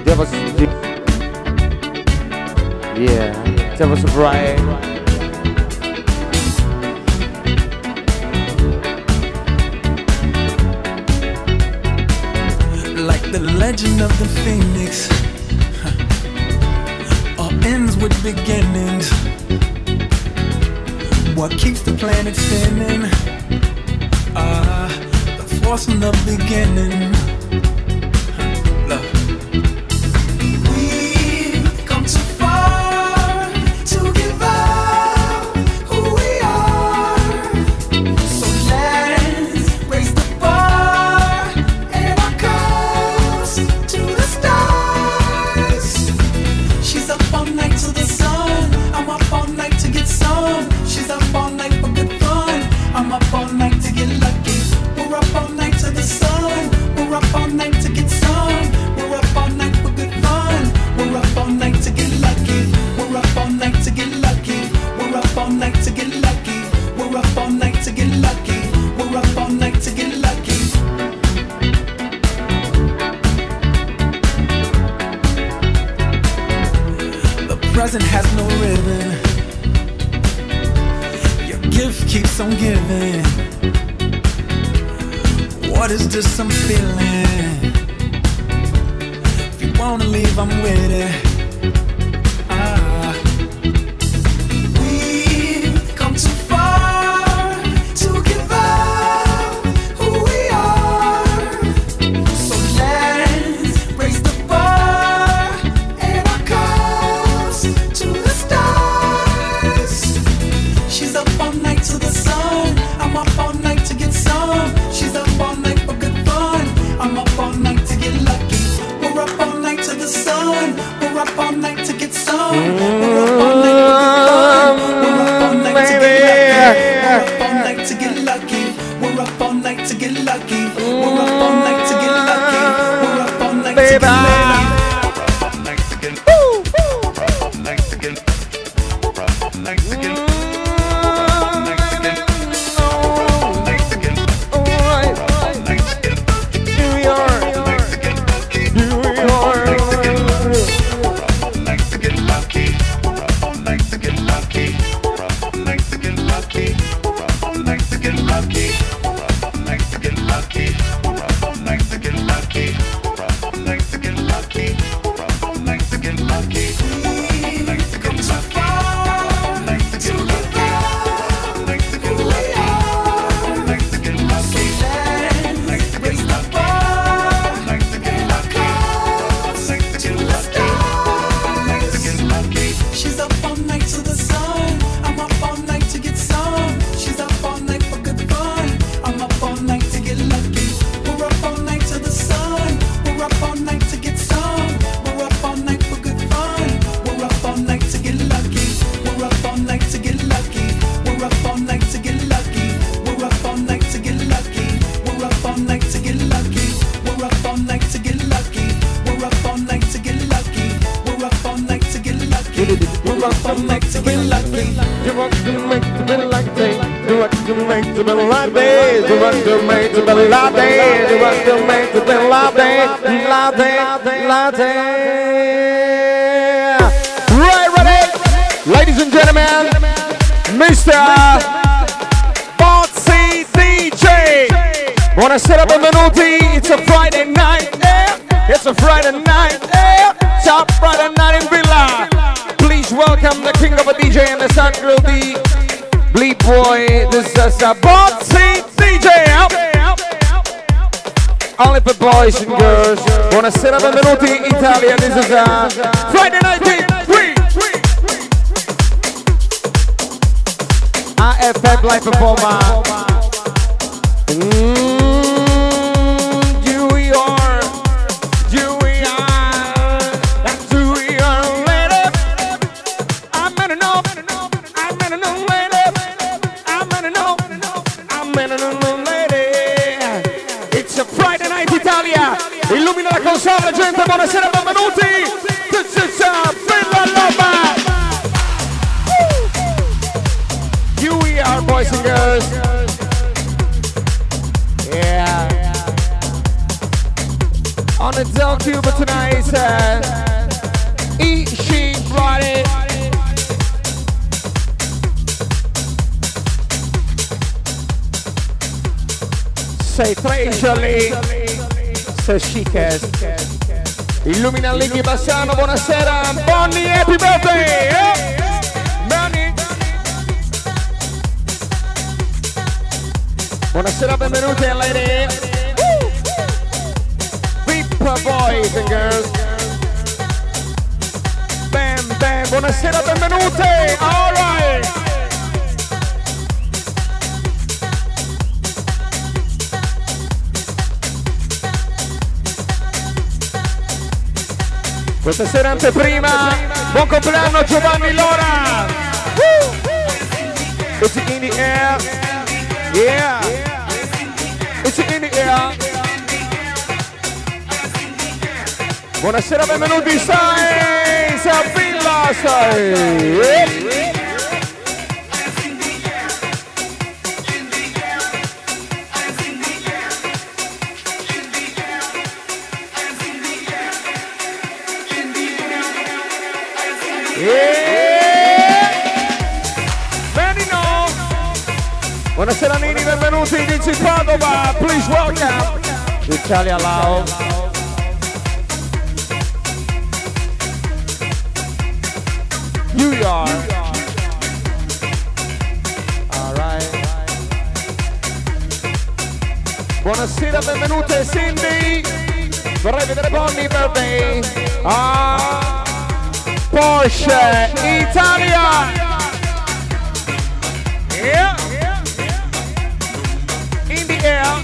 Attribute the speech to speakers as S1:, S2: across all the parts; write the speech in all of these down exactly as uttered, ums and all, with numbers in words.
S1: Devil's Yeah, Devil's Bright.
S2: Like the legend of the phoenix, huh. All ends with beginnings. What keeps the planet spinning? Ah, uh, the force from the beginning. Love. We've come too far to give up who we are. So let's raise the bar and our cups to the stars. She's up all night to the sun. I'm up all night to get some. She's up all night for good fun. I'm up all night to get lucky. We're up all night to the sun. We're up all night to get some. We're up all night for good fun. We're up all night to get lucky. We're up all night to get lucky. We're up all night to get lucky. We're up all night to get lucky. We're up all night to get lucky. The present has no ribbon. Your gift keeps on giving. What is this I'm feeling? If you wanna leave, I'm with it. Ah. We've come too far to give up who we are. So let's raise the bar and our cups to the stars. She's up all night to the sun. I'm up all night to get some. She's up all night for good fun. I'm up all night to get lucky. We're up all night to the sun. We're up all night to get some. We're up all night for good fun. We're up all night to get lucky. We're up all night to get lucky. We're up all night to get lucky. We're up all night to get lucky. We're up all night to get lucky.
S1: Right, ready? Ladies and gentlemen, Mister Botsy D J. Buonasera, benvenuti. It's a Friday night. Eh? It's a Friday night. Eh? Top Friday night in Villa. Please welcome the king of a D J and the sun girl, the Bleed Boy. This is a Botsy D J. Only for boys and girls. Buonasera, benvenuti Italia. This is a Friday night in Villa. A F F live performer. Mm, you we are, you we are, that's who we are, lady. I'm gonna know, I'm gonna know, lady. I'm gonna know, I'm gonna know, lady. It's a Friday night Italia. Illumina la console, gente. Buonasera, benvenuti. This is a Villa Loba. You we are, boys and girls. Yeah. On the Zone Tube tonight, uh, E. She brought it. Sei treasure, sei chicest. Illumina Lighi Bassano, buonasera. Bonnie, happy birthday! Eh? Bonnie. Buonasera, benvenuti a Lady. Boys and girls. Bam, bam, buonasera, benvenuti. All right. Questa sera anteprima, buon compleanno Giovanni Lora. Woo. It's in the air. Yeah. It's in the air. Buonasera, benvenuti, stai, a Villa, stai. Yeah. Benino. Buonasera Nini, benvenuti, Vinci Padova, please welcome Italia Lao. New York. All right. Buonasera, benvenute Cindy. Vorrei vedere Bonnie birthday. Ah, Porsche Italia. Yeah. In the air.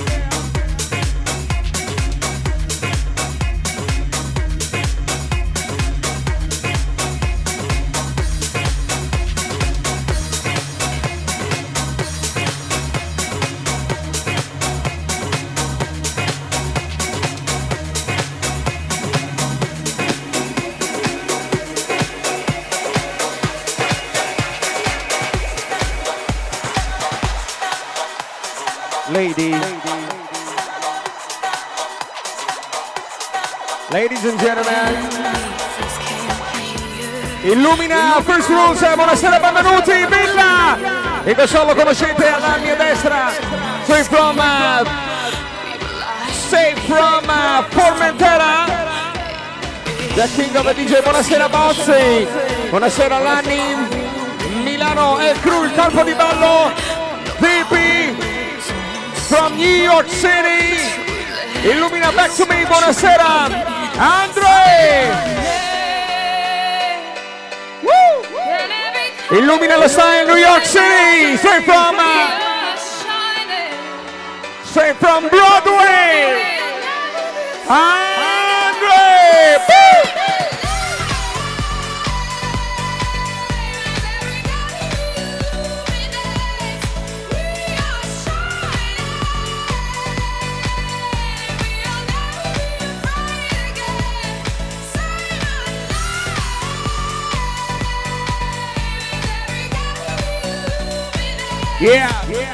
S1: Ladies. Ladies and gentlemen, illumina First Rules, buonasera, benvenuti, Villa! E questo lo conoscete alla mia destra, straight from, uh, straight from uh, Formentera, the King of the D J, buonasera Bozzi, buonasera Lanni, Milano e Crew, il campo di ballo, V P, from New York City, illumina Back to Me, buonasera, Andre! Woo! Illumina lo stai in New York City, straight from, uh, straight from Broadway, Andre! Woo! Yeah. Yeah.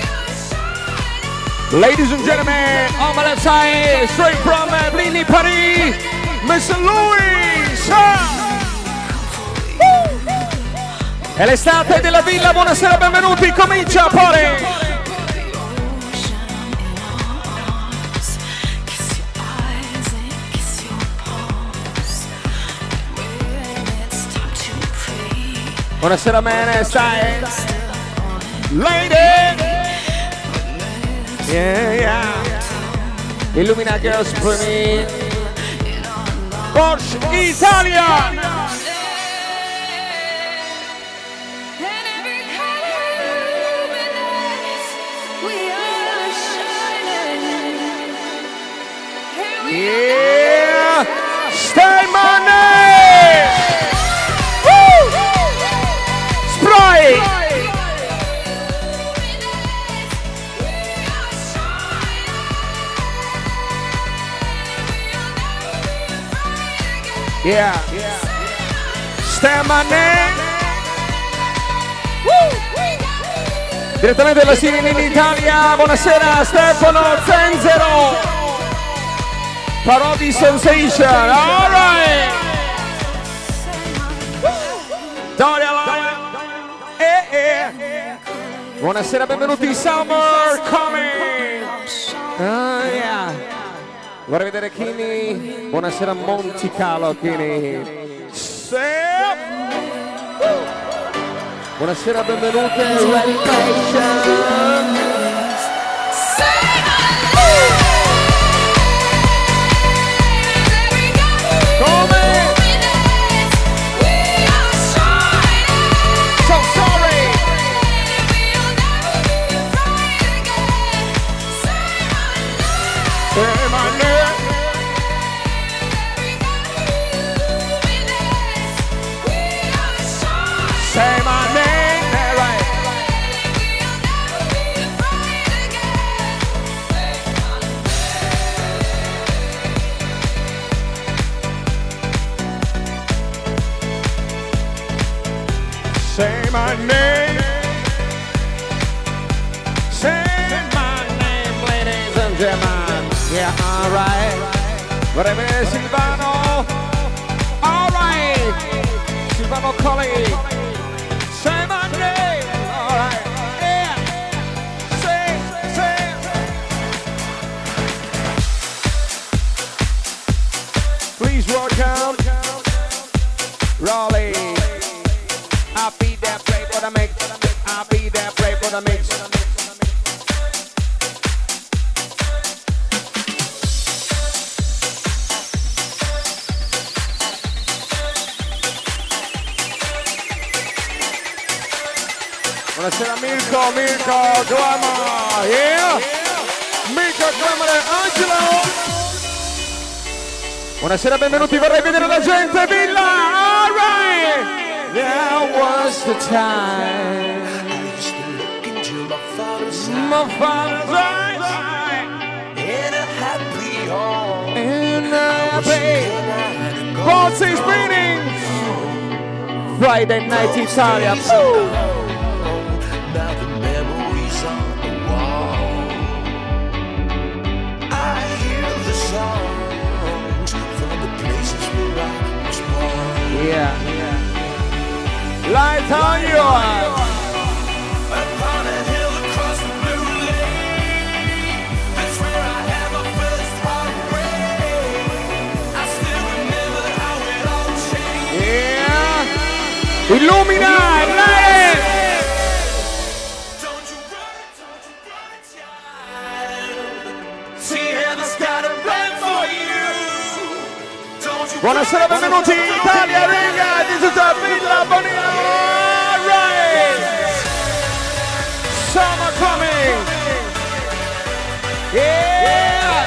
S1: Ladies and gentlemen, on my left side, straight from uh, Bligny, Paris, Mister Louis. È l'estate della villa, buonasera, benvenuti, comincia pure. Buonasera, man, stai? Lady! Yeah, yeah. Illumina Girls for me. Porsche Italia! Yeah! Stay money! Woo! Sprite! Yeah, yeah. Stay money! Woo! Direttamente dalla Sirena in Italia, buonasera Stefano Zenzero! Parodi Sensation, alright! Daria eh, eh. Buonasera, benvenuti in Summer Coming! Oh yeah! Vorrei vedere Kini. Buonasera Monte Carlo, Kini. Buonasera, benvenuti in Red Nation. Say my name, yeah, right. Say my name. Say my name, ladies and gentlemen. Yeah, all right. Vorrei vedere Silvano. All right. Silvano Colli. Say my name, all right, yeah, say, say. Please welcome Raleigh. I'll be there, play for the mix. I'll be there, play for the mix. Buonasera Mirko, Mirko, Glamour, yeah! Mirko, Glamour e Angelo! Buonasera, benvenuti, vorrei vedere la gente, Villa, alright! There was the time I used to look into my father's eyes, my father's eyes, in a happy home, in a happy Baltic meetings, Friday night Italia, ooh. Now the memories on the wall, I hear the songs from the places where I was born. Yeah, yeah. Light on your eyes. Upon a hill across the blue lake, that's where I had my first heartbreak. I still remember how it all changed. Yeah. Illumina, light. Buonasera, benvenuti in Italia, raga, this is a Villa Bonino, right? Summer coming, yeah!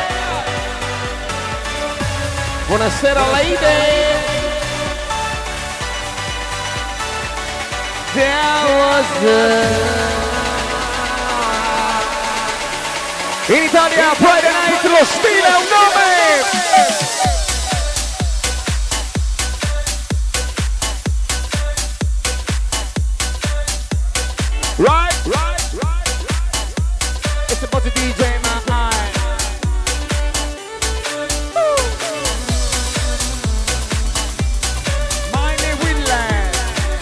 S1: Buonasera, lady. There was the... In Italia, Friday night, lo stile è un nome! Right, right, right, right. It's about to D J my eye. My name is Willand.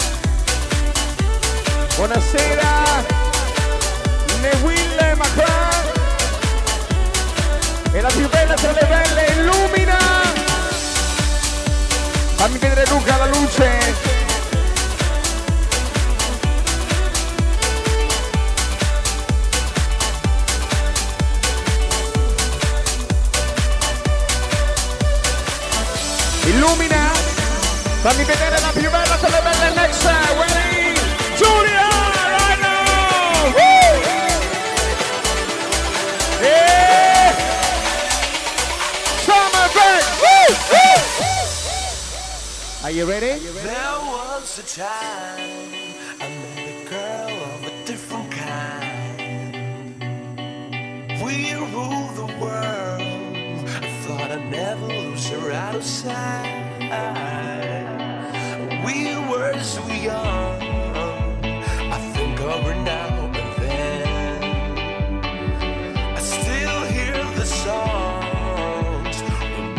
S1: Buonasera, Neville Macron. E la più bella tra le belle, illumina. Fammi vedere Luca la luce. Illumina, fammi vedere la più bella tra le belle next wedding, Giulia, right now! Woo! Yeah! Summer break! Woo! Woo! Are you ready?
S2: There was a time I met a girl of a different kind. We ruled the world. I thought I'd never lose her out of sight. We were so young. I think of her now and then. I still hear the songs when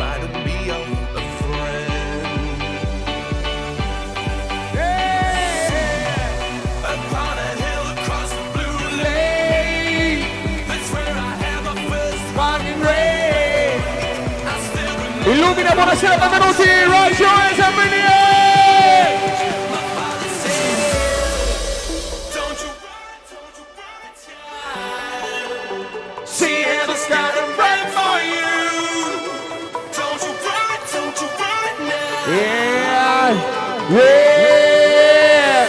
S1: Illumina, buonasera, benvenuti. Rise your hands up in the air. See heaven's got a right for you. Don't you run, don't you run now. Yeah, yeah.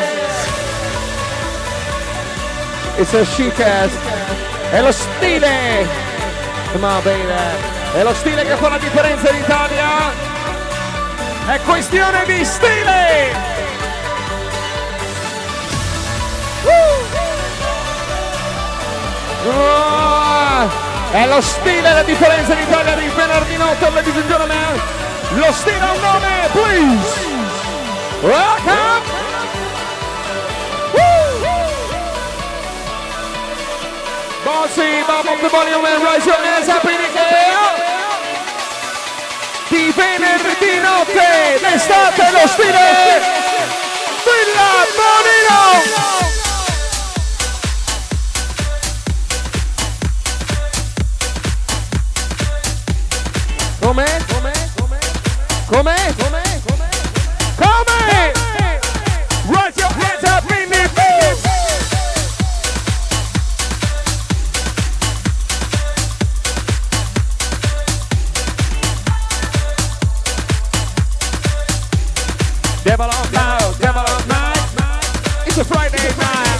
S1: It's a chic ass. È lo stile. Come on, baby. È lo stile che fa la differenza in Italia. È questione di stile. Oh, è lo stile la differenza in Italia di venerdì notte, ladies and gentlemen. Lo stile ha un nome, please. Welcome. Bossy, bob up the volume and raise your hands up in the air. Di venerdì notte, d'estate, lo stile Villa Bonino. Come? Come? Come? Come? Come? Come? Raise your hands up in the air. Devil on night, devil on night. It's a Friday night.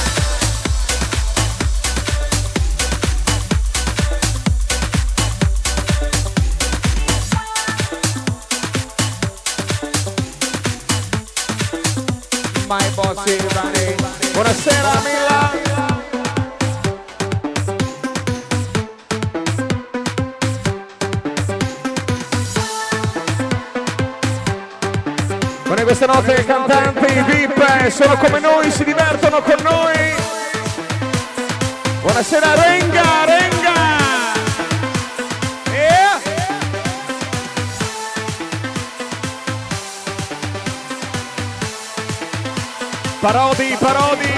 S1: My boss is running. Buonasera Mila. Questa notte i cantanti, i V I P sono come noi, si divertono con noi. Buonasera Renga, Renga. Yeah. Parodi, Parodi.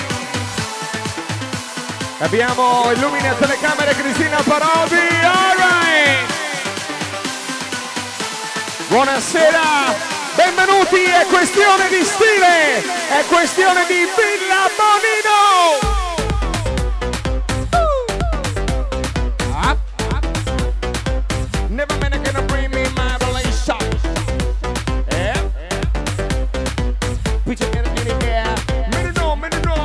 S1: Abbiamo Illumina telecamere Cristina Parodi. All right. Buonasera. Benvenuti, è questione di stile, è questione di Villa Bonino! Uh. Up, up. Never man gonna bring me my relation. Yeah. Put your hand in the air. Minute no, minute no.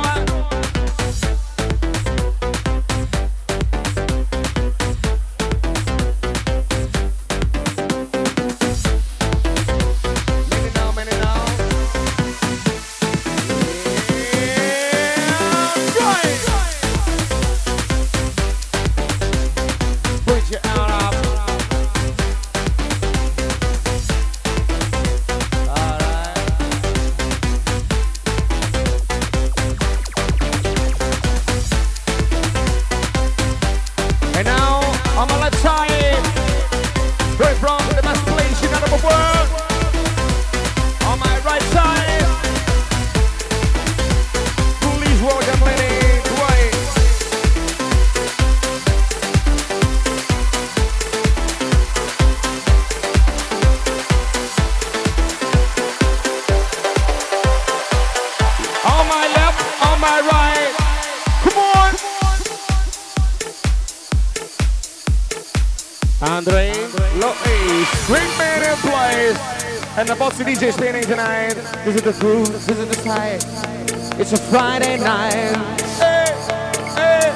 S1: Andre Lois, great man in place, and the Bossy D J spinning tonight. This is the groove, this is the side. It's a Friday night. Hey, hey.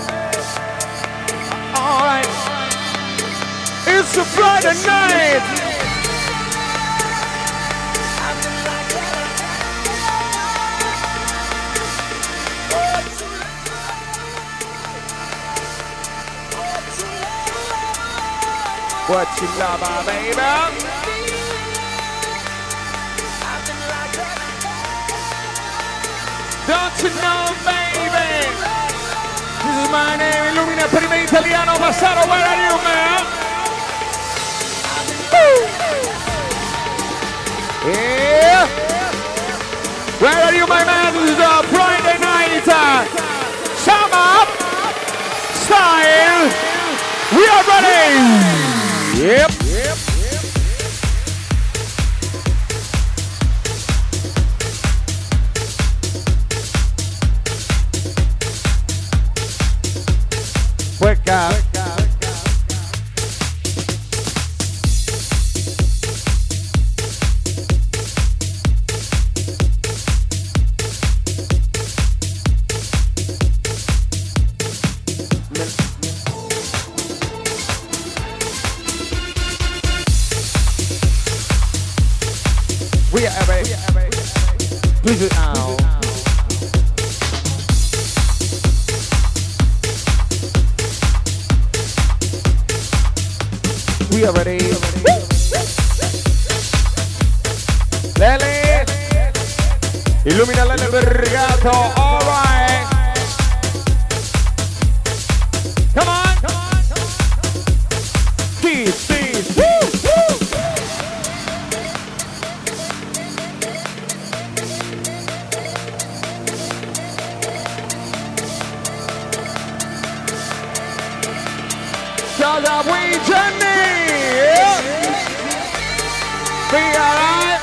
S1: All right, it's a Friday night. What you love, uh, baby? Don't you know, baby? This is my name, Illumina per me italiano, Massaro, where are you, man? Woo! Yeah! Where are you, my man? This is a Friday night. Uh, sum up, style, we are ready! Yep. Yep. We are ready. Please it now. We are ready. Lele. Illumina Lele Vergato. All right. Come on. Keep, keep. Woo, woo. Shut up, we Jenny. Be alright.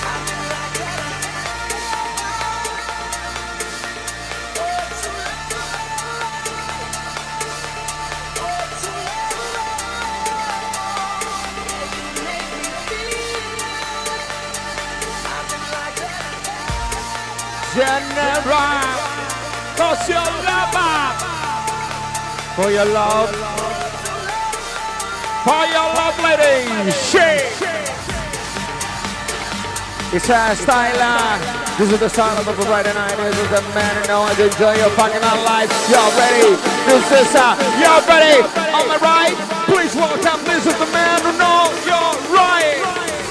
S1: Genera, cause your love, for your love, for your love, lady, shake. It's a style. This is the sound of the Friday night. This is the man who knows how to enjoy your fucking life. Y'all ready? This is uh, y'all ready? On the right, please welcome. This is the man who knows you're right.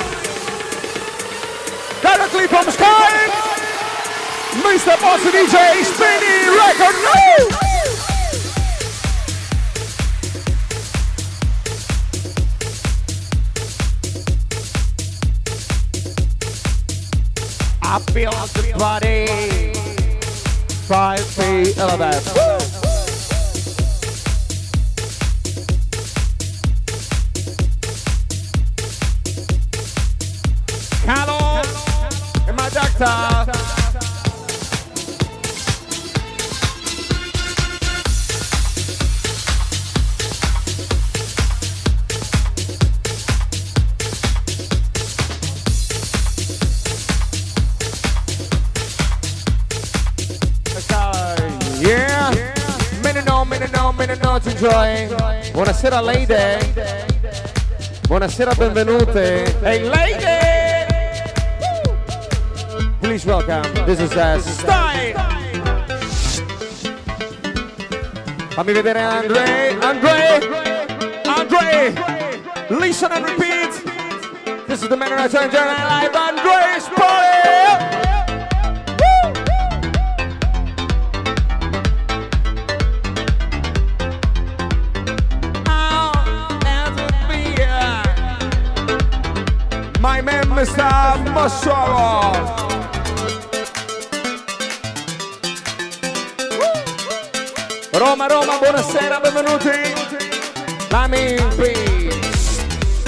S1: Directly from Sky, Mister Bossy D J, Spinny Record. No! I feel the body. Five feet eleven. Hello, and my doctor. Enjoy. Buonasera lady. Buonasera, benvenute. Hey lady. Please welcome. This is a style. Fammi vedere Andre. Andre. Andre. Listen and repeat. This is the man who has turned live. Andre's party. My man, Mister Masoro. Roma, Roma, buonasera, benvenuti. Lami Peace.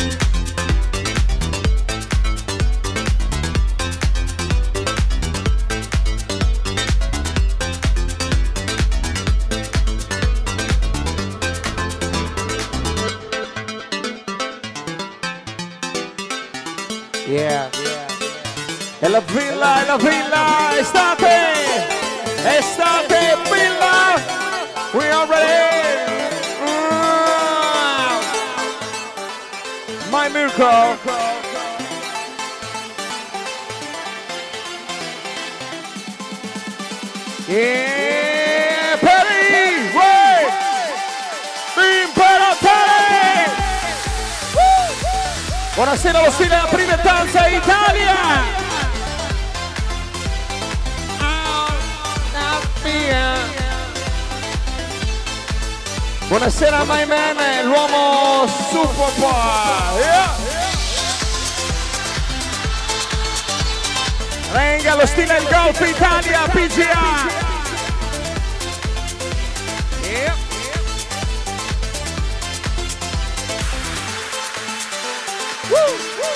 S1: Yeah, yeah. E la villa, e la villa, estate, estate, villa, we are ready. Mm. My Mirko. Yeah, Perry, wait, Imperatore. Buonasera, lo stile della prima danza Italia. Buonasera my man, l'uomo super boy. Yeah. Venga, lo stile del golf Italia, P G A. Yeah. Woo.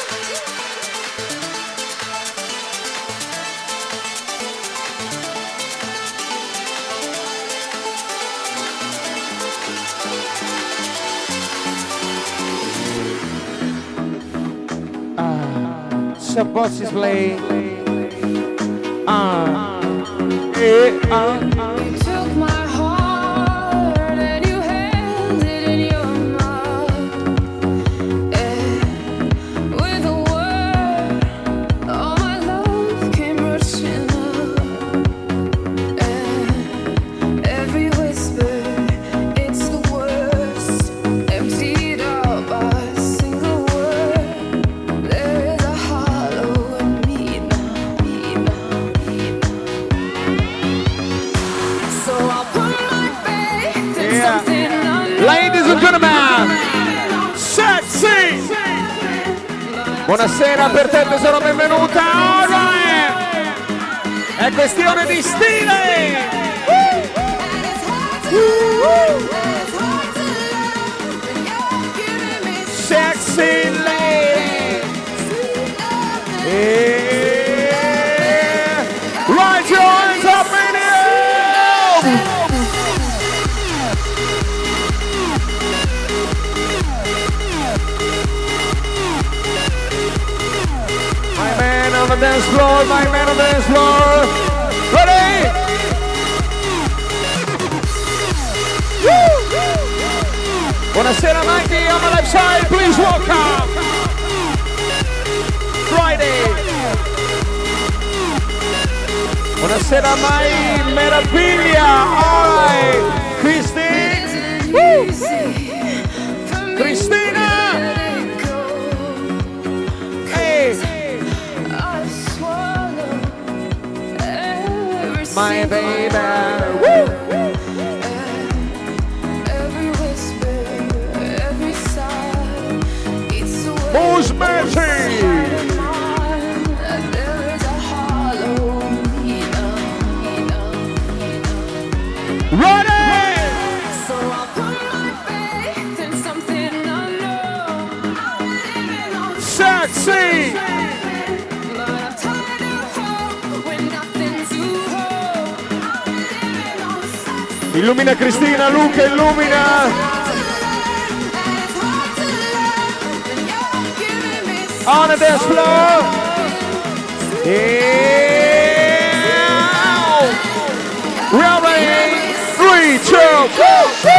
S1: The boss is playing. Uh, eh, uh, uh.
S3: You took my heart and you held it in your mouth. Eh, with a word, all
S1: Buonasera per te tesoro, benvenuta. Alright. È questione di stile. Sexy lady. Yeah. Right your hands up in the air. My man on the dance floor, my man on the dance floor. Ready? Woo! Buonasera Mikey on the left side, please welcome. Friday. Buonasera Mai Meraviglia. Alright. Christine. Woo! Cristina. Hey. My baby. Woo! Who's Mercy? Ready!
S3: So I put my faith in something unknown. I'm living on
S1: Sexy!
S3: but I'm tired of hope when nothing to hold. I'm living on something.
S1: Illumina Cristina, Luca, illumina! On the dance floor! Yeah! We're ready! Three, two, go, go!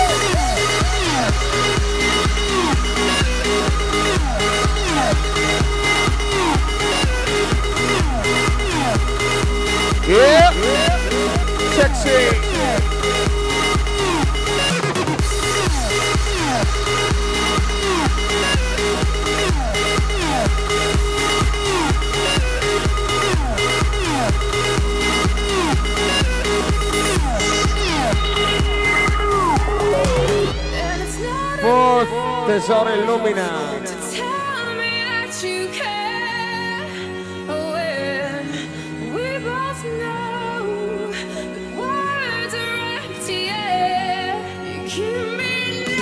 S1: Yeah! Sexy! Fourth, tesoro illumina.
S3: Tell me that you care when we both know that words are empty air. You give me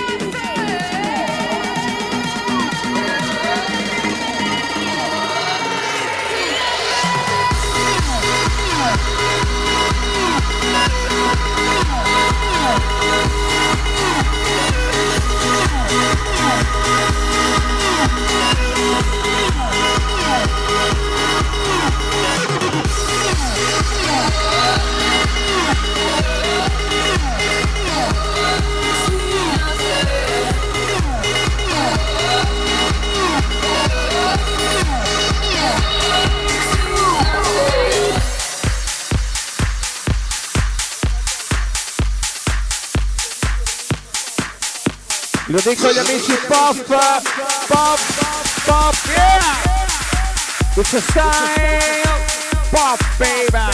S1: Lo dico agli amici pop, pop, pop, yeah! It's a style, pop, baby!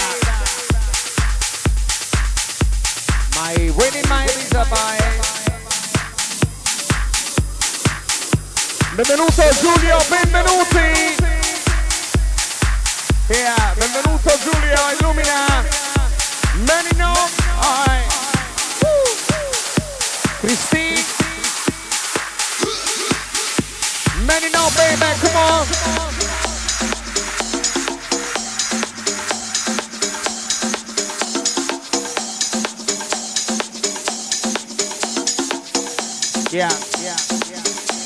S1: My winning my visa by. Benvenuto Giulio, benvenuti! Yeah, benvenuto Giulio, illumina! Many no, alright! Christine! Many no, baby, come on! Yeah, yeah, yeah.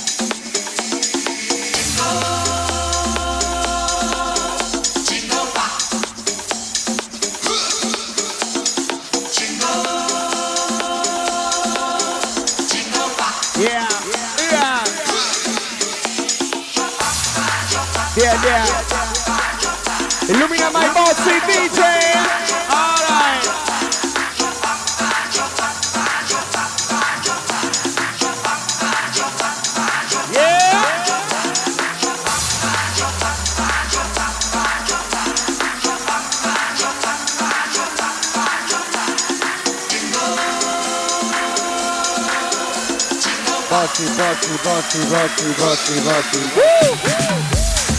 S1: Yeah, yeah. Yeah, yeah. Illumina my bossy D J. All right. Yeah. Boss. bocci, bocci, bocci, bocci, bocci, bocci.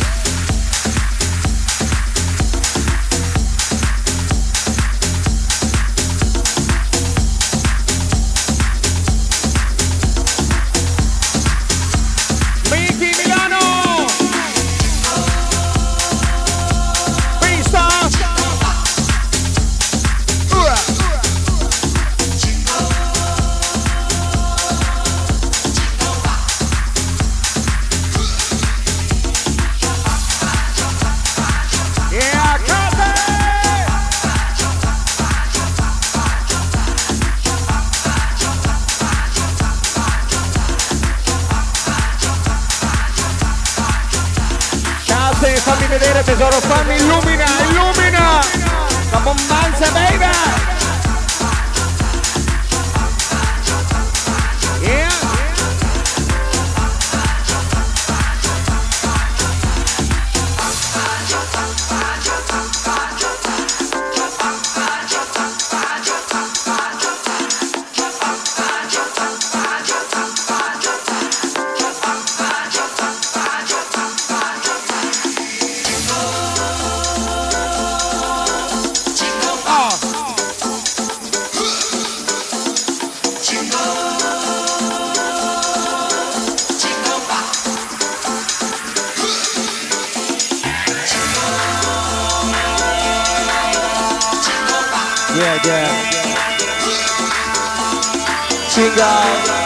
S1: Fammi vedere tesoro, fammi illumina, illumina la bombanza, baby. Yeah. Yeah, yeah. Jingle.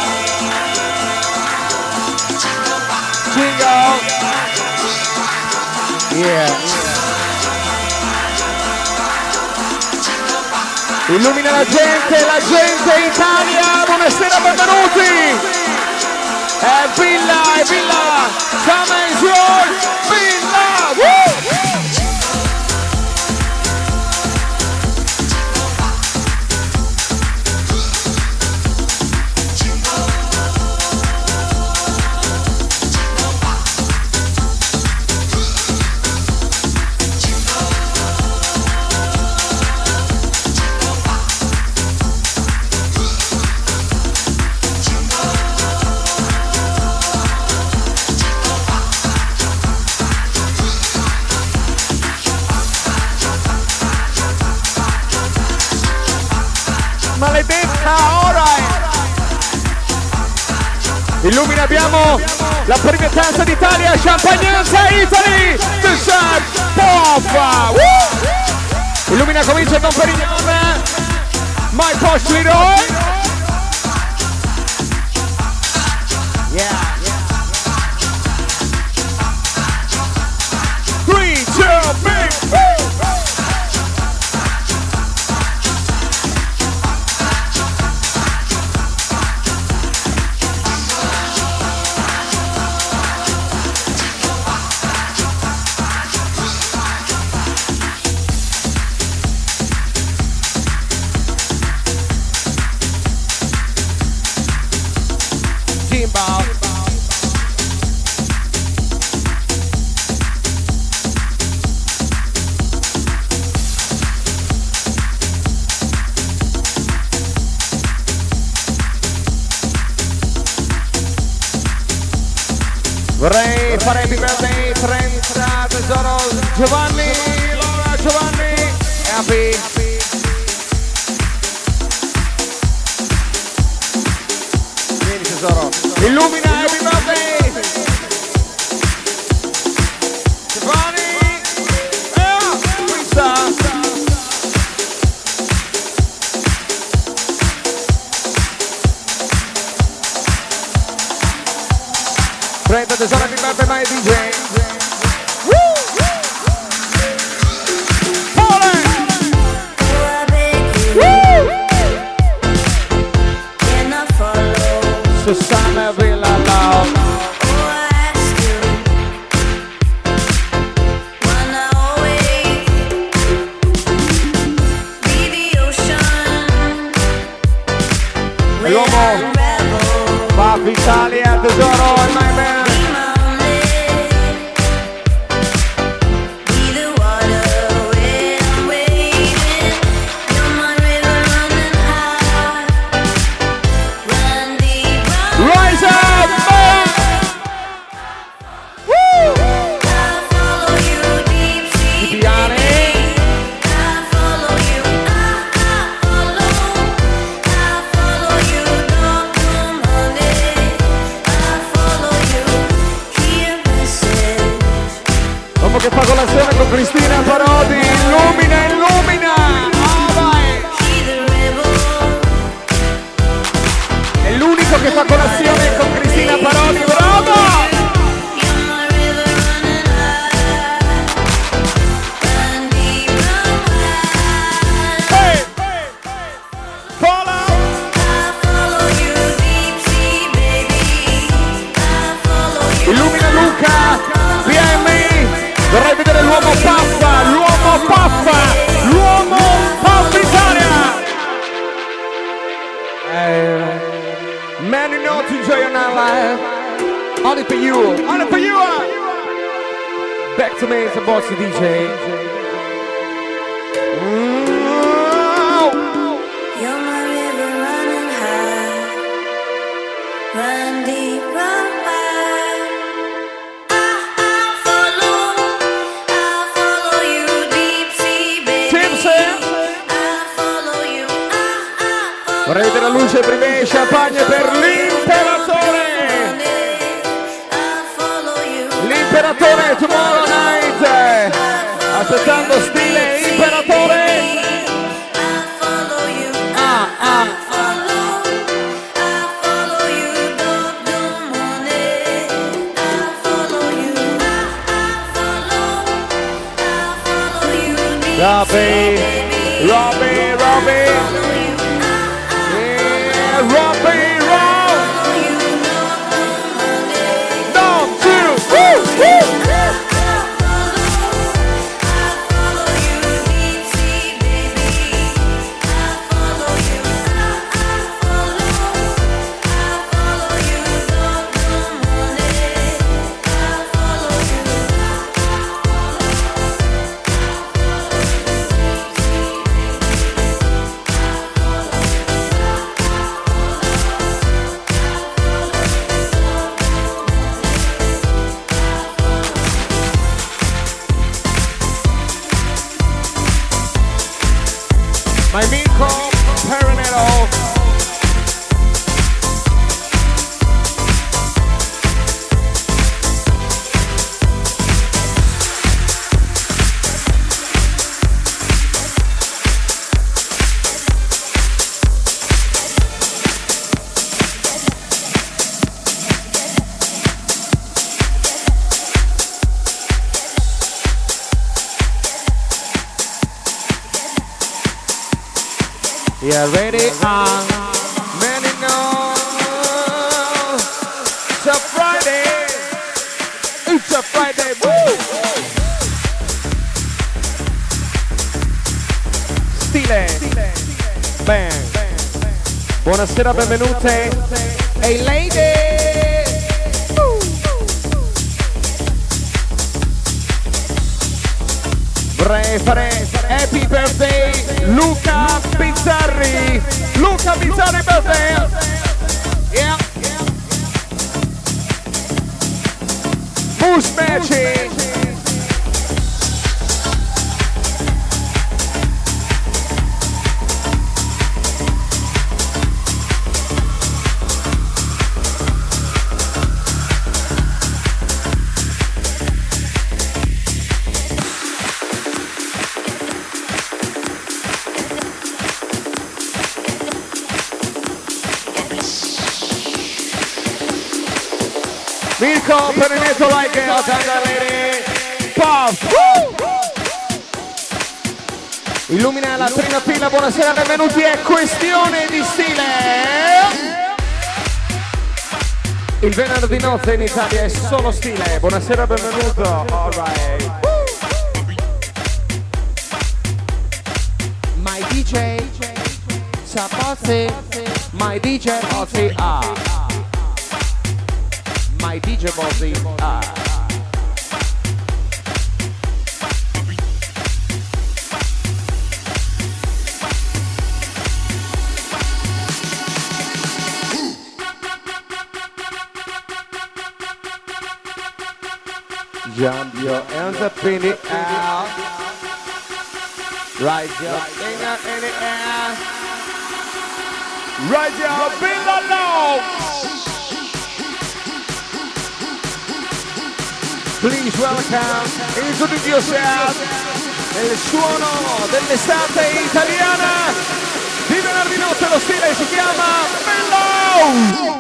S1: Jingle. Yeah. Illumina la gente, la gente Italia, buonasera, benvenuti. È Villa, è Villa. Summer is yours, Villa. Woo! Maledetta, alright. Illumina, abbiamo la prima tazza d'Italia, Champagnanza Italy, The Sun Pop. Illumina, comincia con Perignon, My Posh Leroy. Yeah. Three, two, big, vorrei fare happy birthday trenta tesoro Giovanni, Laura Giovanni, happy. Vieni tesoro, illumina, happy birthday Giovanni, eh, qui sta. trenta tesoro, happy birthday my D J. Woo! Susanna Villa Love. L'uomo va Italia tesoro, my man. l'uomo che fa colazione con Cristina Parodi, illumina, illumina! Oh, vai! È l'unico che fa colazione con Cristina Parodi, bravo! Illumina Luca, B M I, vorrei vedere l'uomo paffa, l'uomo paffa, l'uomo paffa Italia! Eh, man, you know to enjoy your night life, only for you, only for you! Back to me, it's a bossy D J. Mm.
S3: You're my river running high, run deep, run wide. I, I follow, I follow you deep sea, baby. I follow you, I, I follow.
S1: Vorrei vedere la luce prima e champagne per l'imperatore. L'imperatore tomorrow night. Aspettando stile imperatore. Ah, ah. Robbie, Robbie, Robbie. Yeah, Robbie, Robbie. Down, two, woo, woo. My amico Peronello. Yeah, ready on. Man, you know, it's a Friday. It's a Friday. Woo! Stile. Bang. Buonasera, benvenute. Hey, lady. Woo. Vorrei fare happy birthday Luca Bizzarri. Luca Bizzarri birthday. Yeah. Bush matching. Mirko per il netto like e lady. Puff. Illumina la prima fila, buonasera, benvenuti, è questione di stile. Il venerdì notte in Italia è solo stile, buonasera, benvenuto. Alright. My D J Sapazzi, my D J Ozzy, ah. My D J Bozzi, ah. Jump your hands up in the air. Rise your finger in the air. Rise your finger low. Please welcome, introduce yourself, nel suono dell'estate italiana di venerdì notte. Lo stile si chiama Mellow.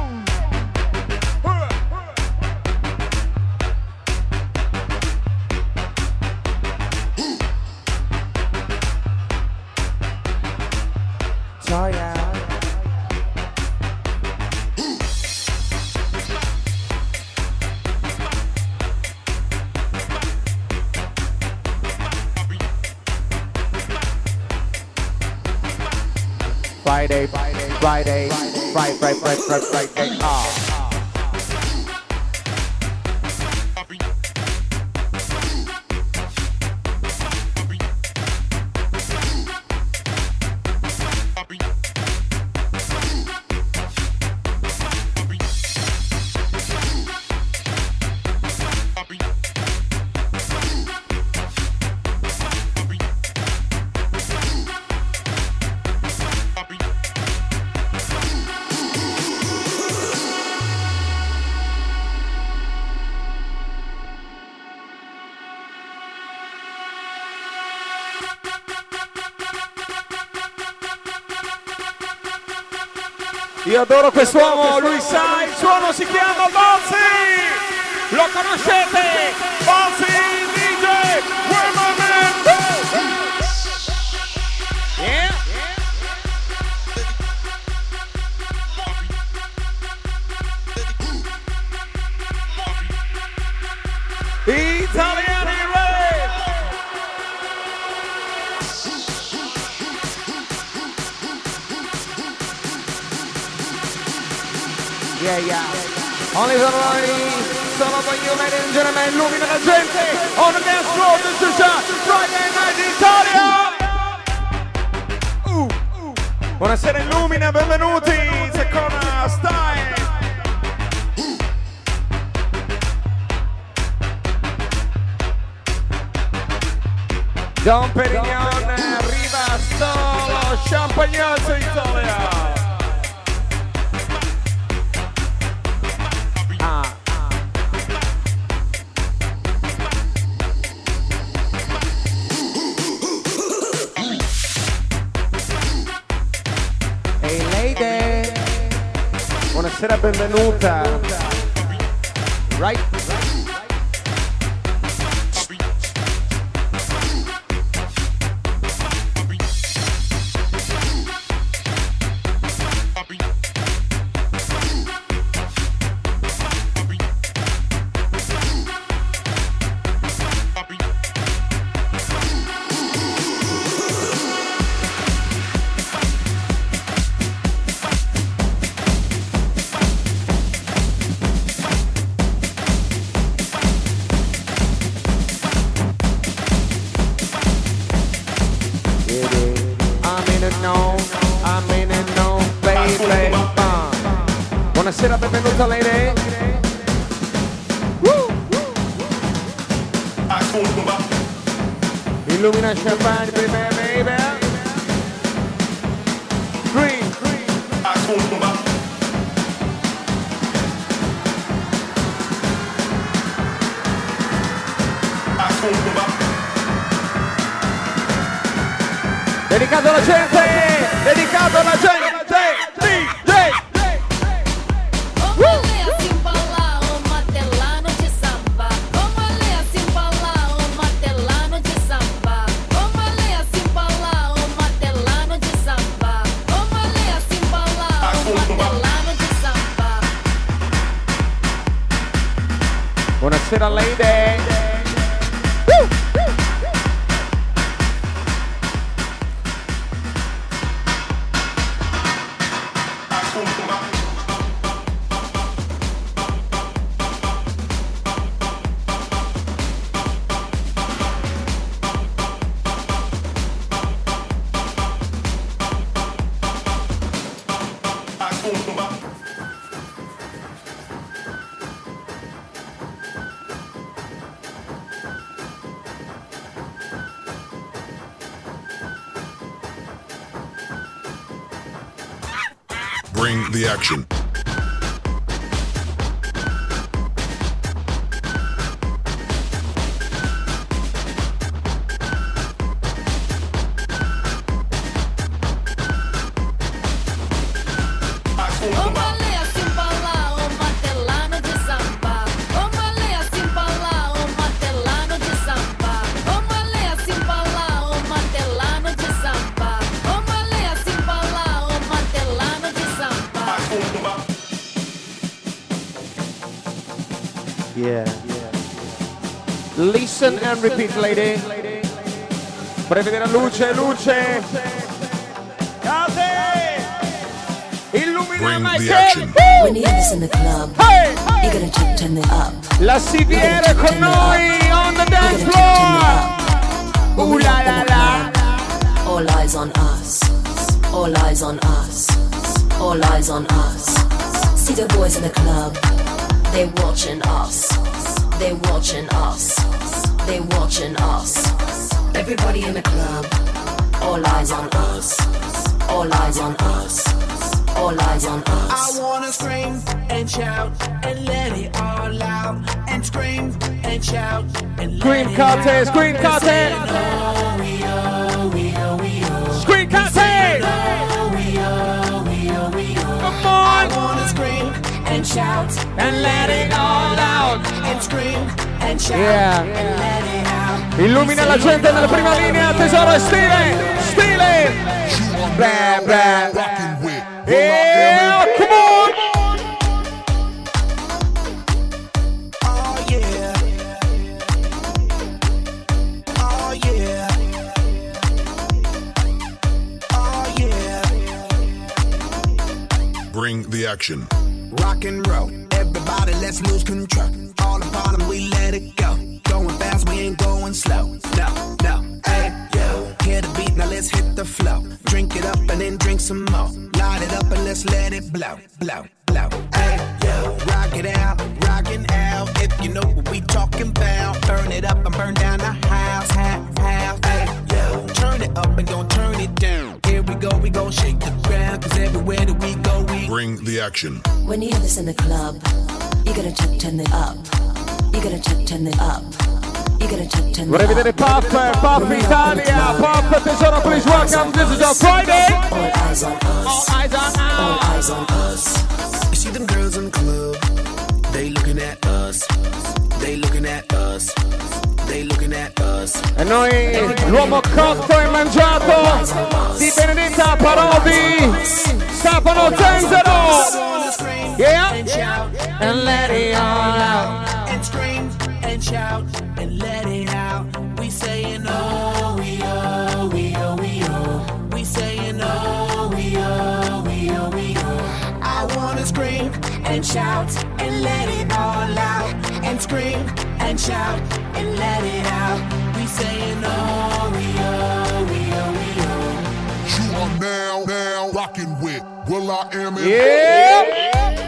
S1: Friday, Friday, Friday, Friday, Friday, Friday, Friday, ah. Io adoro quest'uomo, lui sa, il suono si chiama Bonzi! Lo conoscete? Bonzi D J! Where my man? Yeah? Italiani Ray! Yeah, yeah. Only for noi, solo for you, ladies and gentlemen, illumina la gente. On the dance floor, this is a Friday Night Italia. Uh, uh. Buonasera Illumina, benvenuti. Seconda Style. Don Perignon, arriva solo Champagnozzo Italia. Buonasera, benvenuta. Right? Buonasera, benvenuta lei. Illumina Champagne, baby, baby. Green, green. Dedicato alla gente, dedicato alla gente. Buonasera lady. Woo!
S4: Bring the action.
S1: Listen and repeat, lady. Vorrei vedere luce, luce. Case! Illumina
S4: Bring
S1: my
S4: the
S1: head.
S4: action.
S3: When you have this in the club,
S1: Hey!
S3: you're gonna check turn it up.
S1: La C V R con noi on the dance
S3: You're gonna check turn
S1: floor.
S3: it up. When
S1: Ooh
S3: we
S1: la
S3: up in
S1: la
S3: the
S1: la.
S3: club, all eyes on us. All eyes on us. All eyes on us. See the boys in the club. They watching us. They watching us. They watching us. Everybody in the club. All eyes on us. All eyes on us. All eyes on
S2: I
S3: us.
S2: wanna scream and shout and let it all out. And scream and shout and let
S1: Scream
S2: it
S1: Cate,
S2: out.
S1: scream
S2: We're saying,
S1: Cate.
S2: oh, we oh, we oh, we oh.
S1: Scream Cate.
S2: Oh, we oh, we oh, we oh.
S1: Come
S2: I
S1: on.
S2: wanna scream and shout
S1: And let it all out.
S2: and scream and shout
S1: Yeah.
S2: and let it out.
S1: Illumina la gente nella prima linea, tesoro e stile, stile. Blah, blah.
S4: Rockin' with
S1: Yeah, come on.
S2: Oh yeah. Oh yeah. Oh yeah.
S4: Bring the action.
S2: Rock and roll, everybody let's lose control. All the bottom we let it go. Going fast, we ain't going slow. No, no, hey, yo. Hear the beat, now let's hit the flow. Drink it up and then drink some more. Light it up and let's let it blow, blow, blow. Hey, yo. Rock it out, rockin' out. If you know what we talking about. Burn it up and burn down the house, house, house. Hey, yo. Turn it up and gon' turn it down. Here we go, we gon' shake the ground. Cause everywhere that we go, we
S4: Bring the action.
S3: When you have this in the club, you gotta check turn it up. You gotta check turn it up. You gotta check turn it
S1: Vorrei vedere
S3: up.
S1: Puff, Puff Italia, Puff, tesoro, please welcome. This is our Friday.
S3: All eyes on
S1: All
S3: us.
S1: eyes on
S3: All
S1: us.
S3: eyes on us.
S2: You see them girls in the club, they looking at us, they looking at us, they looking at us.
S1: E noi, l'uomo cotto e mangiato di Benedetta Parodi, Stefano Zenzero. Yeah.
S2: And shout
S1: And let it all out.
S2: and scream and shout and let it out. We saying oh, we oh, we oh, we oh. We saying oh, we oh, we oh, we oh. I wanna scream and shout and let it all out. And scream and shout and let it out. We saying oh, we oh, we oh, we oh.
S4: You are now, now rocking with Will I Am in
S1: Yeah.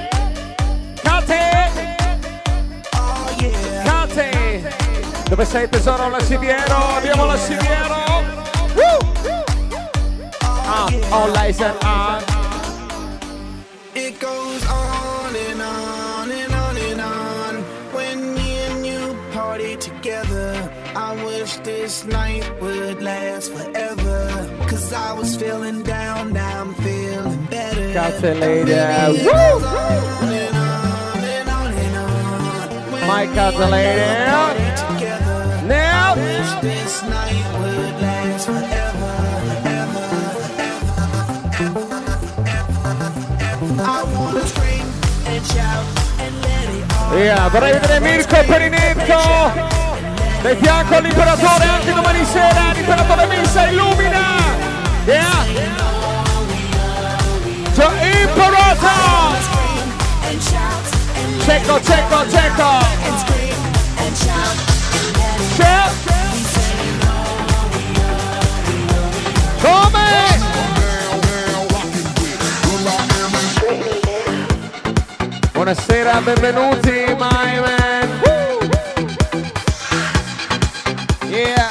S1: Cate,
S2: Oh yeah.
S1: Cate. Dove sei tesoro? La Siviero. Abbiamo la Siviero. Woo. Ah, all eyes on us.
S2: It goes on and on and on and on. When me and you party together, I wish this night would last forever. Cause I was feeling down, now I'm feeling better.
S1: Cate lady.
S2: It
S1: Woo.
S2: goes on and on and on and on. When
S1: My
S2: me
S1: Cate
S2: and you
S1: lady.
S2: party together,
S1: Now.
S2: wish this night would last forever, ever, ever, ever. I wanna scream and shout and let it all
S1: Yeah, vorrei vedere Mirko Perinetto. Del fianco all'imperatore anche domani sera. L'imperatore Missa illumina. Yeah. So, imperator.
S2: scream and shout and let
S1: Cecco, cecco, cecco.
S2: and scream and shout and let it
S1: C'è.
S2: be saying oh, we oh,
S1: Come?
S4: now, now rocking with Will I Am in
S1: Buonasera, benvenuti, my man. Woo. Yeah.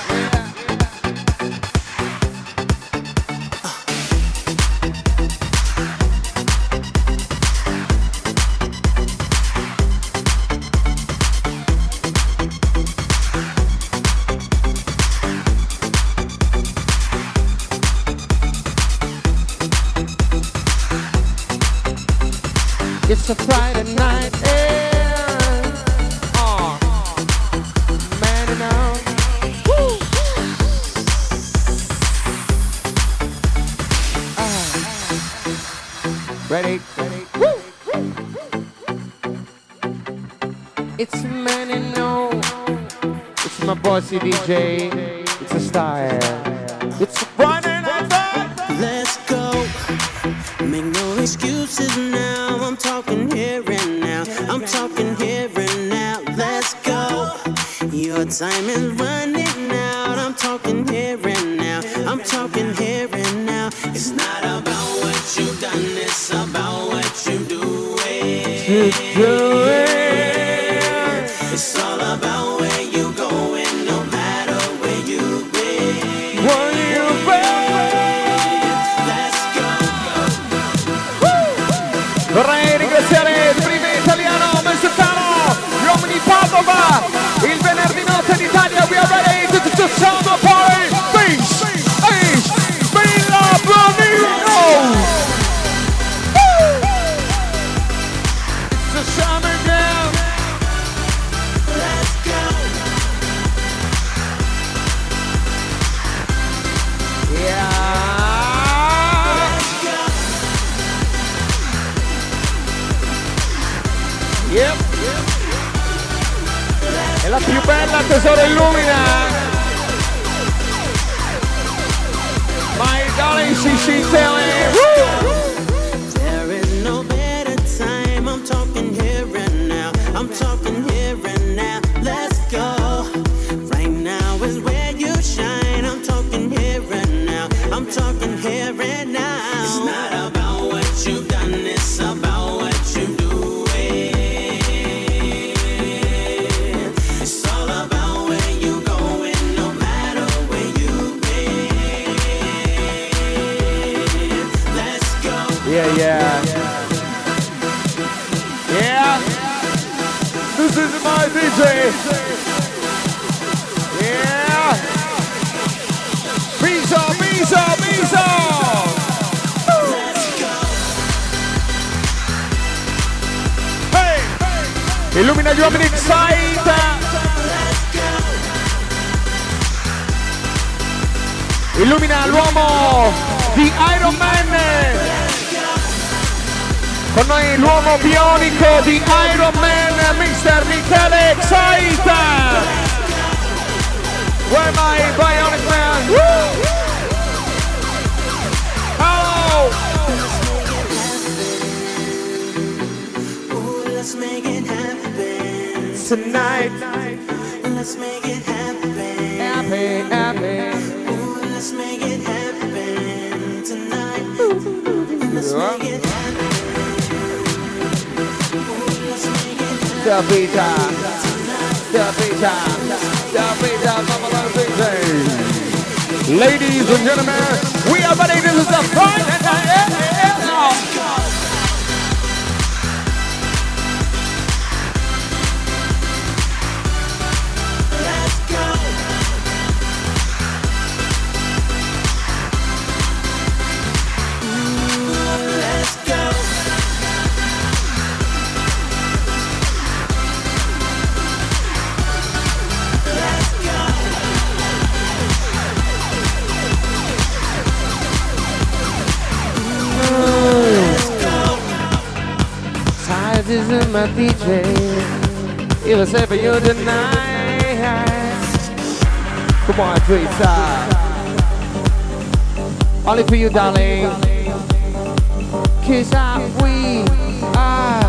S1: It's a Friday night, and oh, man, you know, woo. Ah. Ready, ready, woo. It's man, you know, it's my bossy D J. It's a style. It's Friday night.
S5: Let's go. Make no excuses now. I'm talking here and now. I'm talking here and now. Let's go. Your time is running out. I'm talking here and now. I'm talking here and now. It's not about what you've done. It's about what you do it.
S1: You do it.
S5: It's all about where you going, no matter where you've been.
S1: Where you been?
S5: Let's go.
S1: Vorrei ringraziare il primo italiano Messicano, gli uomini di Padova, il venerdì notte d'Italia. We are ready to, to, to sound the party. Peace, peace, Villa Bonino. It's a summer jam.
S5: Let's go.
S1: Yeah. Yep. È la più bella, tesoro illumina. My darling C C Tele.
S5: There is no better time. I'm talking here and now. I'm talking here and now. Let's go. Right now is where you shine. I'm talking here and now. I'm talking here and now. It's not about what you've done. It's about what you do. It's all about where you going, no matter where you've been. Let's go.
S1: Yeah, yeah. Yeah. This is my D J. Yeah. Biso, biso, biso. Hey. Illumina gli uomini Excite. Illumina l'uomo di Iron Man. Con noi l'uomo bionico di Iron Man, mister Michele Excite. Where my bionic man? Woo! Hello!
S5: Ooh, let's make it happen.
S1: Tonight,
S5: Let's make it happen.
S1: happy, happy.
S5: Ooh, let's make it happen tonight. Let's make it happen. Ooh, let's make it happen.
S1: The Vita, the Vita, the Vita, the Vita. Ladies and gentlemen, we are ready. This is the Friday night.
S5: Let's go. Ooh, let's go. Let's go. Let's go.
S1: Size is my D J. Even say for you tonight. Come on, Teresa. Only for you, darling. Kiss out, we are.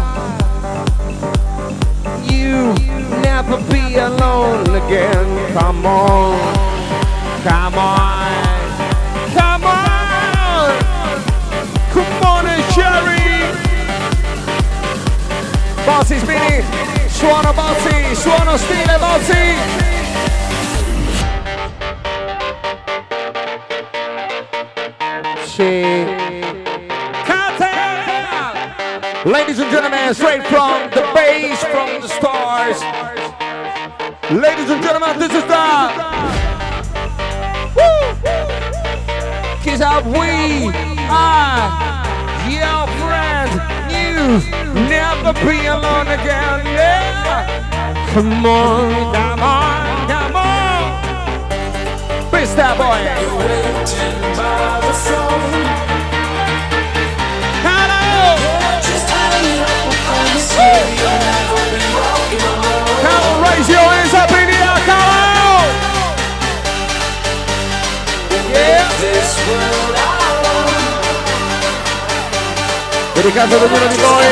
S1: You never be alone again. Come on, come on, come on, come on, Sherry. Bossy Spinny, suono Bossy, suono stile Bossy. She Ladies and gentlemen, straight from the base, from the stars. Ladies and gentlemen, this is the Woo! Kiss out, we are your friends. You never be alone again. Yeah. Come on, come on, come on. Beast that boy.
S2: You're waiting by the phone.
S1: Hello.
S2: Just hang up on the city. You'll never be walking alone.
S1: Come on, raise your hands up in the air. Come on. Dedicato ad ognuno di voi.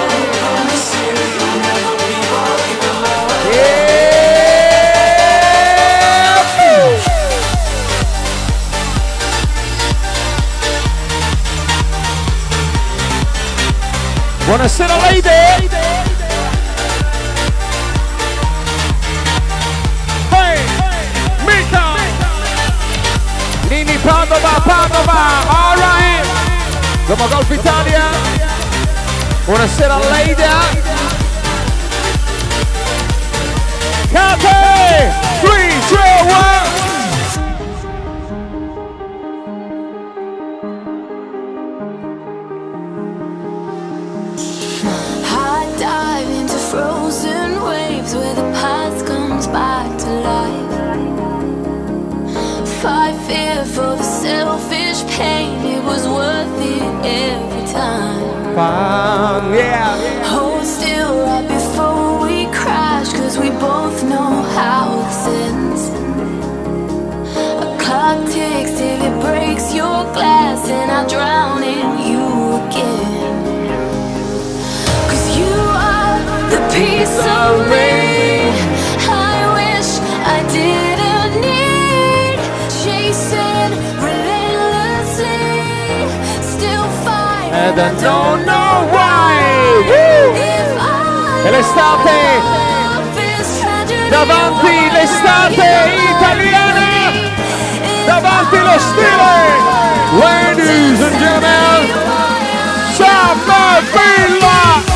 S1: Yeah. Buonasera lady. Hey, Mika. Nini Padova, Padova, all right. Dopo Golf Italia. Buonasera Leida. Kate, three, two, one.
S3: I dive into frozen waves where the past comes back to life. Fight fear for the selfish pain, it was worth it every time.
S1: Fun, yeah.
S3: Hold still right before we crash, cause we both know how this ends. A clock ticks till it breaks your glass, and I drown in you again. Cause you are the piece of me I wish I didn't need. Chasing relentlessly, still fighting.
S1: And I don't know why. Woo! E l'estate, davanti l'estate italiana, davanti lo stile. Ladies and gentlemen, Summer Villa.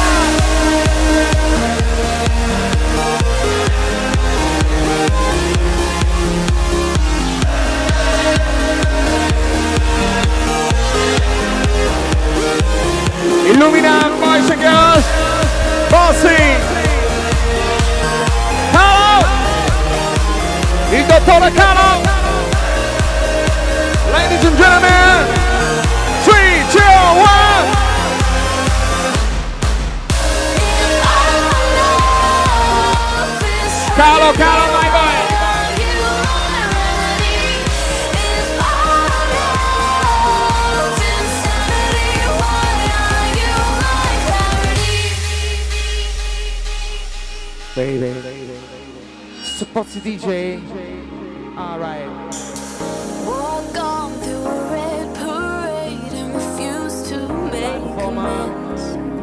S1: Illumina, boys and girls. Bossy. Hello. Il dottore Calo. Ladies and gentlemen. Three, two, one. Calo, Calo, my boy. Baby, baby, baby. Suppozzi D J. All right.
S3: Walk on through a red parade and refuse to make amends.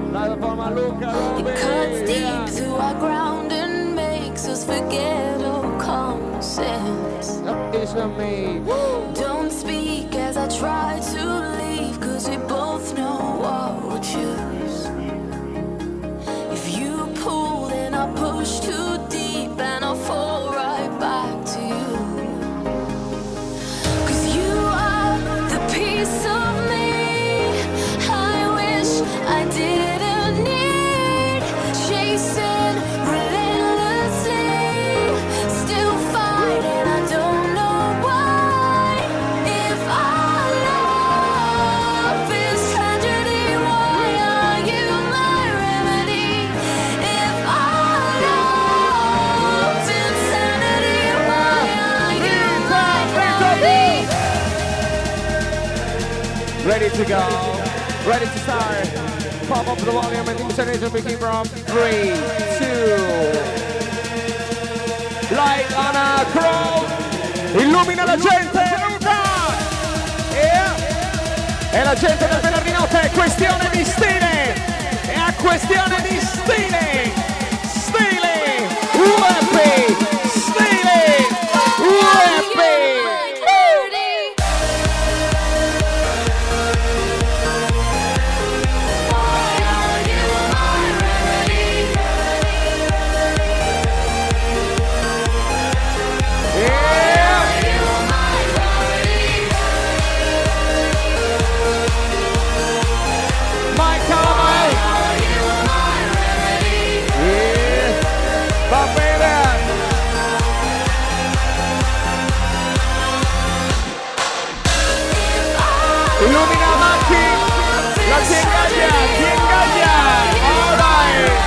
S3: It cuts deep through our ground and makes us forget all common sense. Don't speak as I try to leave, cause we both know what we'll choose. If you pull, then I'll push too deep and I'll fall right back to you. Cause you are the piece of me I wish I didn't need. Chasing relentlessly, still fighting, I don't know why. If our love is tragedy, why are you my remedy? If our love's insanity, why are you my remedy?
S1: Ready to go, ready to start. Pop up the volume and intonation begin from three, two. Light on a crow. Illumina la gente, Luca. Yeah. E la gente del venerdì notte è questione di stile. È a questione di stile. Stile. U M P. Stile. U M P. Illumina avanti, la si ingaglia, si ingaglia, all right.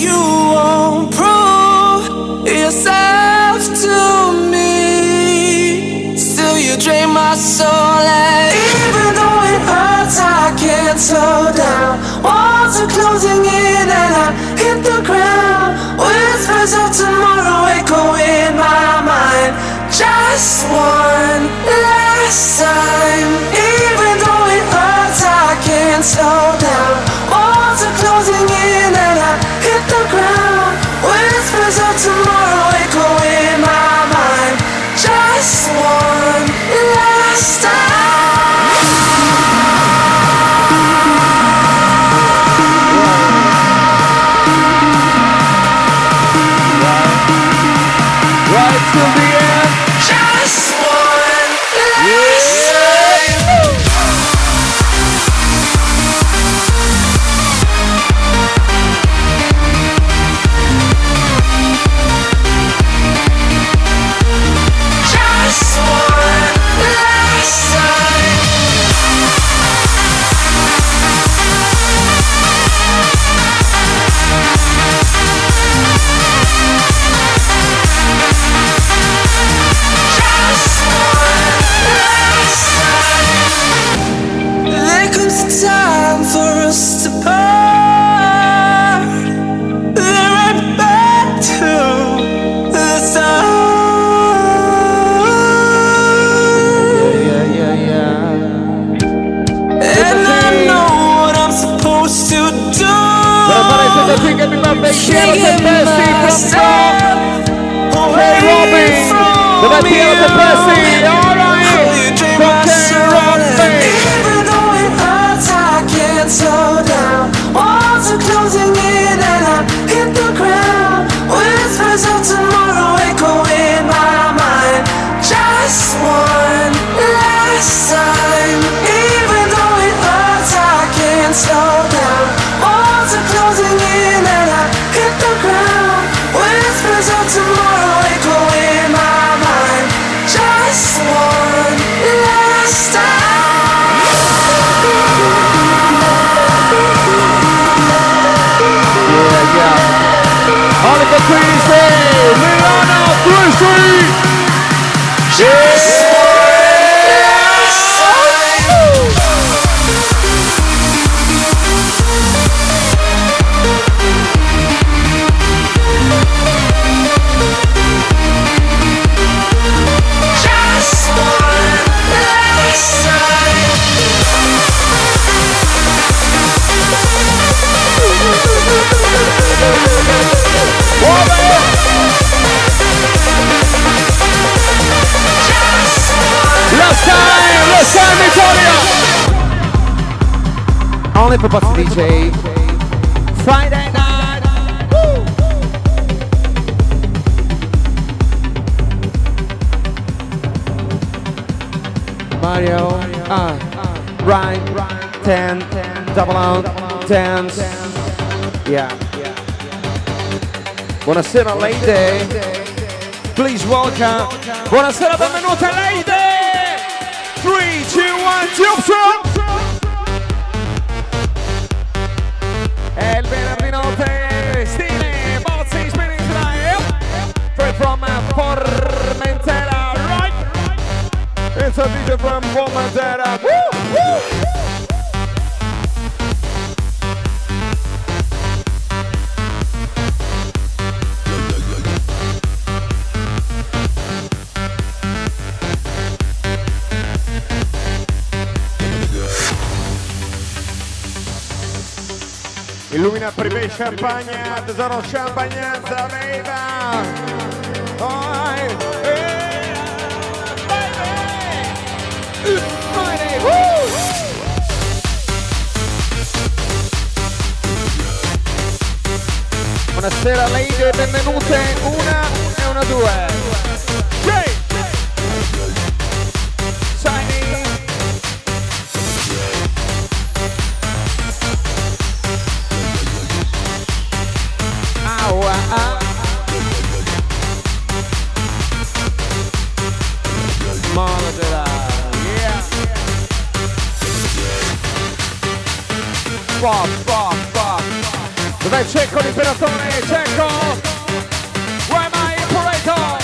S2: you won't prove yourself to me. Still you drain my soul, and even though it hurts, I can't slow down. Walls are closing in and I hit the ground. Whispers of tomorrow echo in my mind. Just one last time. Even though it hurts, I can't slow down. Walls are closing in and I hit the ground. Whispers of tomorrow echo in my mind. Just one last time.
S1: Right till the end.
S2: Just one last time. Just one last time. Just one last time. There comes a time for us to part. Then right back to the start.
S1: Yeah, yeah, yeah.
S2: And I know what I'm supposed to do.
S1: Gonna fare questa thing, happy birthday, Piero Tempesti from York. Hey Robbie, dov'è Piero Tempesti? Alright, from K Robbie.
S2: Even though it hurts, I can't slow down. Walls are closing in and I hit the ground. Whispers of tomorrow echo in my mind. Just one last time. Even though it hurts, I can't slow down. Walls are closing in and I hit the ground. Whispers of tomorrow echo in my mind. Just one last time.
S1: Yeah, yeah. Oliver Queasy, Milano, Queasy.
S2: Just one last time. Just one last time.
S1: Last time, last time Italia. Only for Buzz D J. Friday night. Woo. Mario, ah, right, ten, double out, dance. Yeah. Buonasera lady. Please welcome. Buonasera, benvenuta lady. three, two, one, jump from. È il venerdì notte, stile, Bozzi, spinning tonight. Straight from Formentera, right? It's a D J from Formentera. Woo, woo. Illumina privé champagne, tesoro champagnanza, beva. Oh, hey, baby. Friday, woo. Buonasera lady, benvenute, una e una due. Jay. Shiny. Monitor, yeah. Fuck, fuck, fuck. Dai, Cecco l'imperatore, Cecco! Where my operator?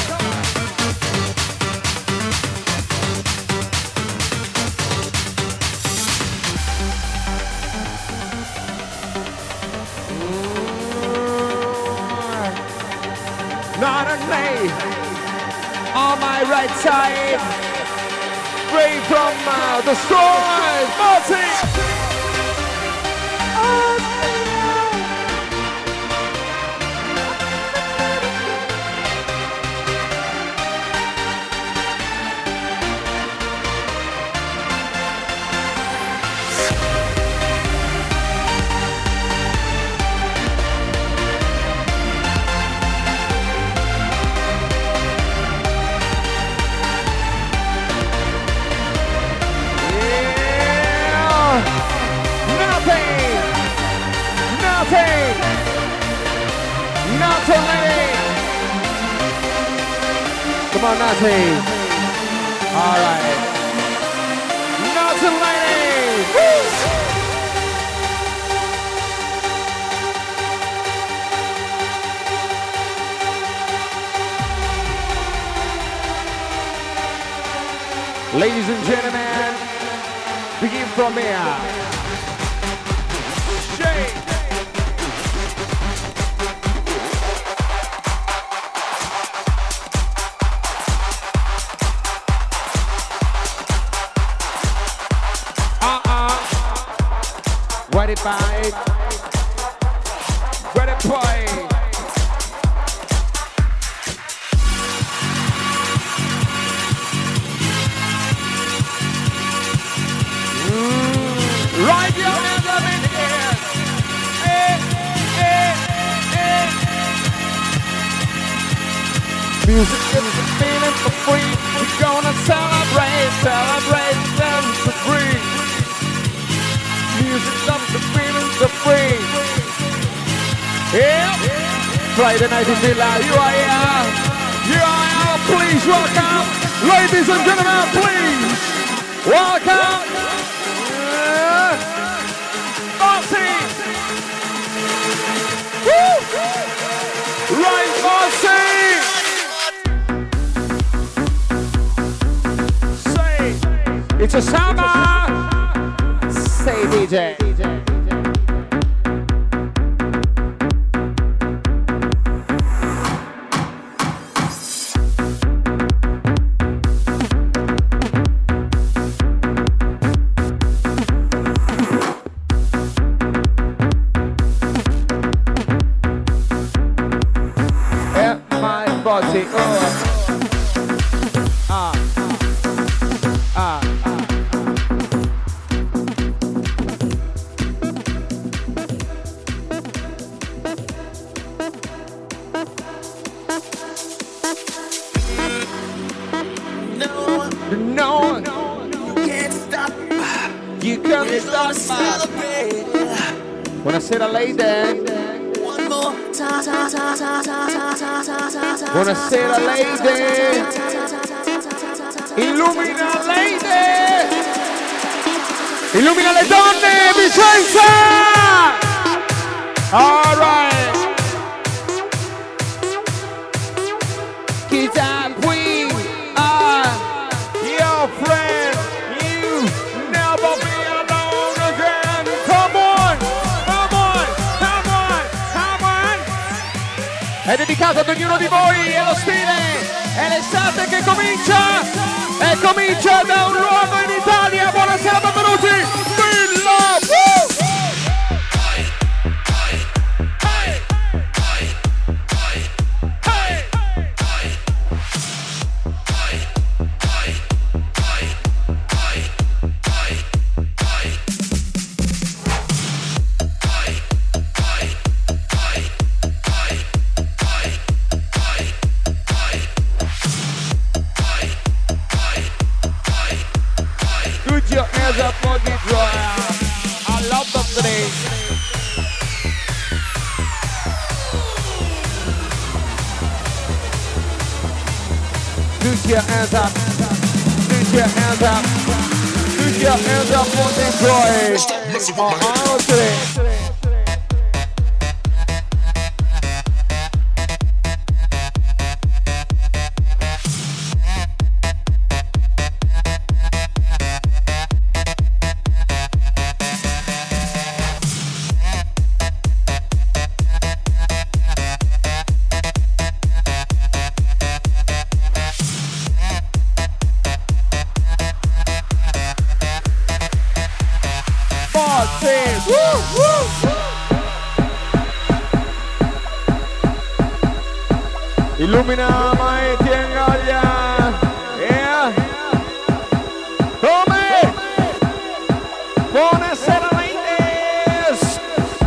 S1: Not a me on my right side, free from uh, the storm, Marty! Come on, Natty. All right. Natty lady. Woo! Ladies and gentlemen, begin from here. Shake. Ready, bye. Ready, play. Mm. Right your hands up in the air. Eh, eh, eh. Music is the feeling for free. We're gonna celebrate, celebrate, dance for free. Music loves the feeling so free. Yeah. Friday night in Villa, you are here. You are here. Please welcome, ladies and gentlemen, please welcome. Uh, Marcy. Woo. Right, Marcy. Say, it's a summer. Say D J. At my body, oh. Ah, ah, ah. No,
S2: You can't stop.
S1: you can't
S2: We're gonna
S1: stop.
S2: celebrate.
S1: Buonasera lady.
S2: One more time.
S1: Buonasera lady. Illumina lady. Illumina le donne, Vicenza. All right. Kids and we are your friend. You never be alone again. Come on, come on, come on, come on. È dedicato ad ognuno di voi, è lo stile, è l'estate che comincia e comincia da un luogo in Italia. Buonasera, benvenuti, Villa! Woo! Put your hands up for the dryer. I love the thing. Put your hands up. Put your hands up. Put your hands up for the dryer.
S4: Stop messing with my head.
S1: Oh, today. Illumina Maiti e Gaglia. Yeah. Come? Buonasera ladies.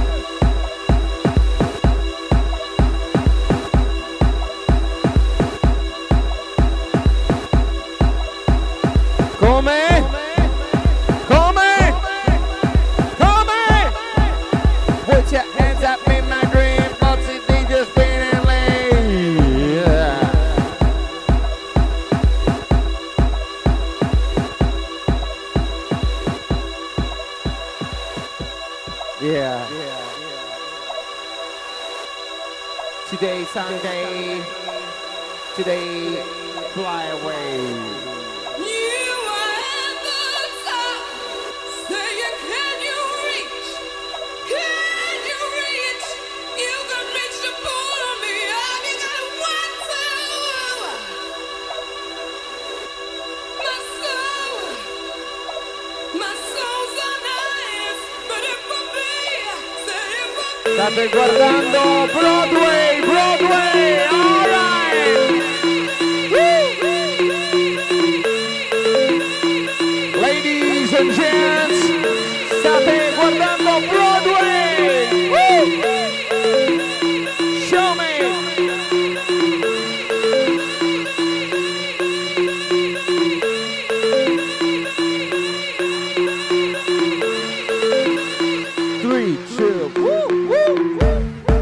S1: Come? Come? Come? Put your hands up in my dream, what's it they just spinning lane? Yeah. Yeah. Today Sunday. Today fly away.
S2: You are at the top, saying, can you reach? Can you reach? You can reach to pull me up. You gotta want to. My soul, my soul's on ice, but it will be, say it will be.
S1: State guardando Broadway, Broadway, alright! Ladies and gents, state guardando Broadway! Woo! Show me! Three, two, woo, woo, woo!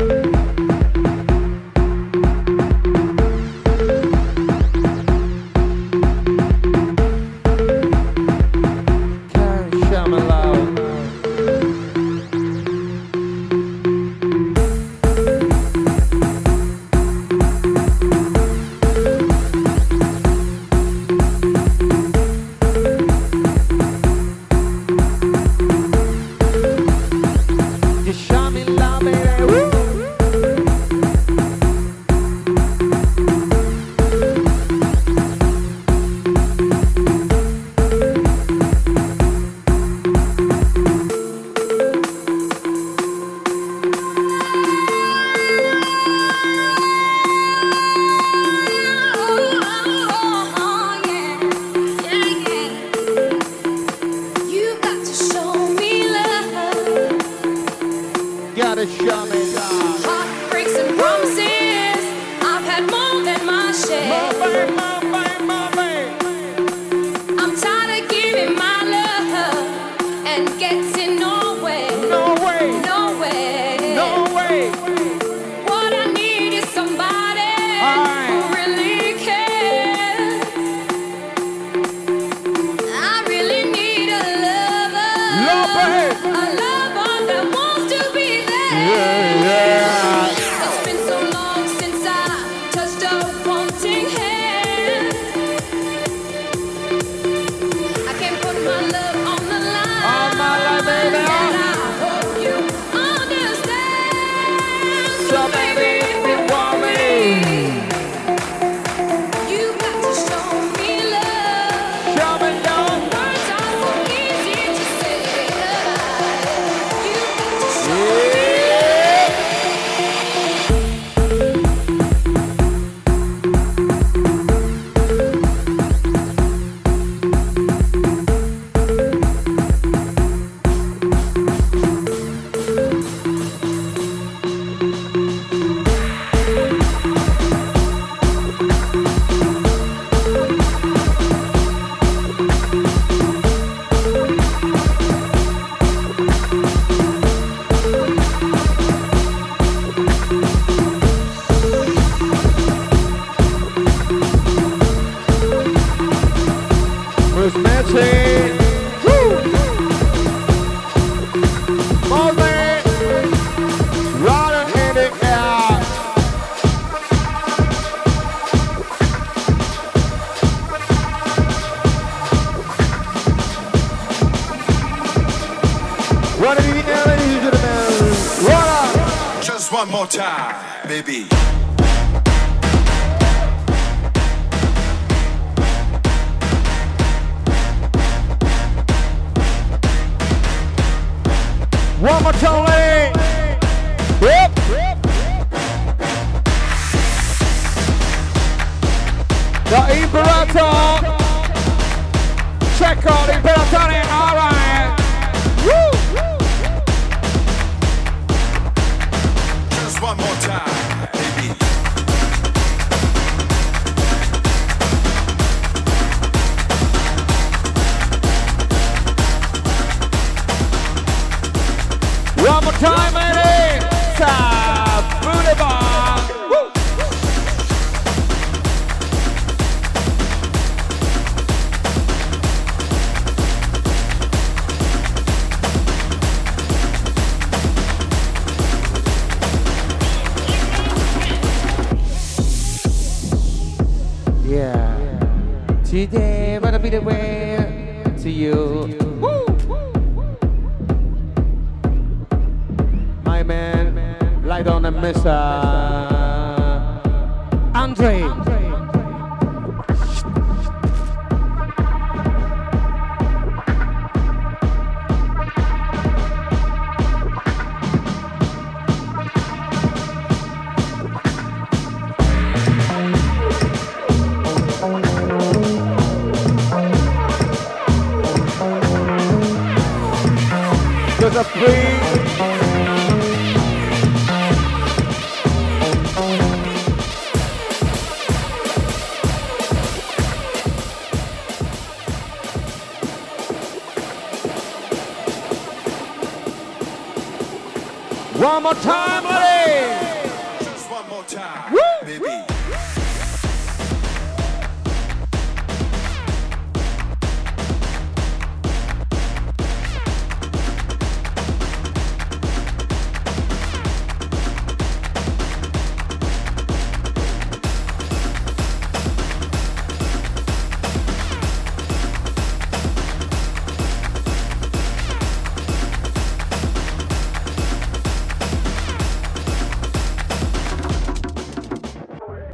S1: Gotta show me love.
S2: Heartbreaks and promises, I've had more than my share.
S1: Move, move, move, move.
S2: I'm tired of giving my love and getting nowhere.
S1: No way,
S2: Nowhere.
S1: no way.
S2: What I need is somebody who really cares. I really need a lover.
S1: Love it.
S2: A lover that wants to be there.
S1: Yeah, yeah.
S2: It's been so long since I touched a wanting hand. I can't put my love on the line.
S1: On my line, baby.
S2: And I hope you understand.
S1: So baby, if you want me,
S2: You got to show me love.
S1: show me love.
S2: Words are so easy to say. You got to show me
S1: Yeah. Who's matching? Woo! Moving, running in the air. Running in the air, ladies and gentlemen. Run up.
S6: Just one more time, baby.
S1: One more time, lady. Yep. The Imperator. Check out the Imperator. All right. Woo.
S6: Just one more time, baby.
S1: One more time, ladies. Booty bar. Woo. Yeah. Today, wanna be the way to you. Woo. My man, light on the Mister Andre. There's a free. One more time, ladies.
S6: Just one more time.
S1: Woo!